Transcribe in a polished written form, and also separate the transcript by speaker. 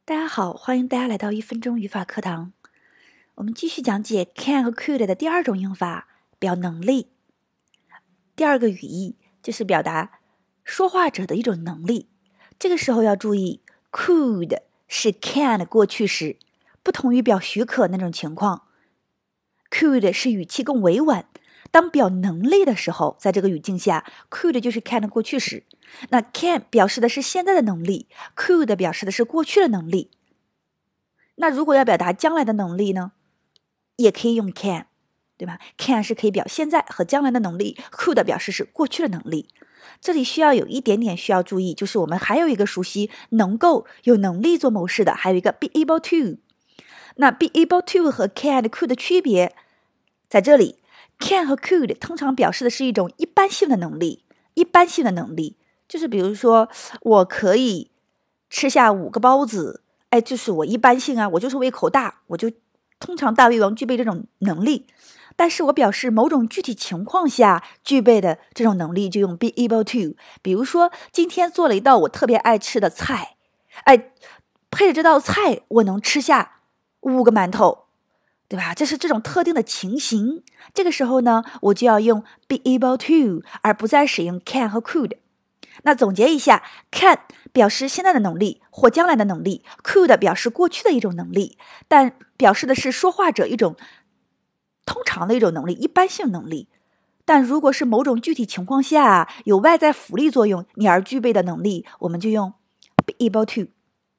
Speaker 1: 大家好，欢迎大家来到1分钟语法课堂。我们继续讲解 can 和 could 的第二种用法，表能力。第二个语义就是表达说话者的一种能力。这个时候要注意 could 是 can 的过去时，不同于表许可那种情况。could 是语气更委婉，当表能力的时候，在这个语境下 could 就是 can 的过去时。那 can 表示的是现在的能力， could 表示的是过去的能力。那如果要表达将来的能力呢，也可以用 can， 对吧？ can 是可以表现在和将来的能力， could 表示是过去的能力。这里需要有一点点需要注意，就是我们还有一个熟悉能够有能力做某事的，还有一个 be able to。 那 be able to 和 can 的 could 的区别在这里， can 和 could 通常表示的是一种一般性的能力。一般性的能力就是比如说我可以吃下5个包子，就是我一般性啊，我就是胃口大，我就通常大胃王具备这种能力。但是我表示某种具体情况下具备的这种能力就用 be able to。 比如说今天做了一道我特别爱吃的菜，配着这道菜我能吃下5个馒头，对吧？这是这种特定的情形。这个时候呢，我就要用 be able to， 而不再使用 can 和 could。那总结一下， can 表示现在的能力或将来的能力， could 表示过去的一种能力，但表示的是说话者一种通常的一种能力，一般性能力。但如果是某种具体情况下有外在辅力作用你而具备的能力，我们就用 be able to。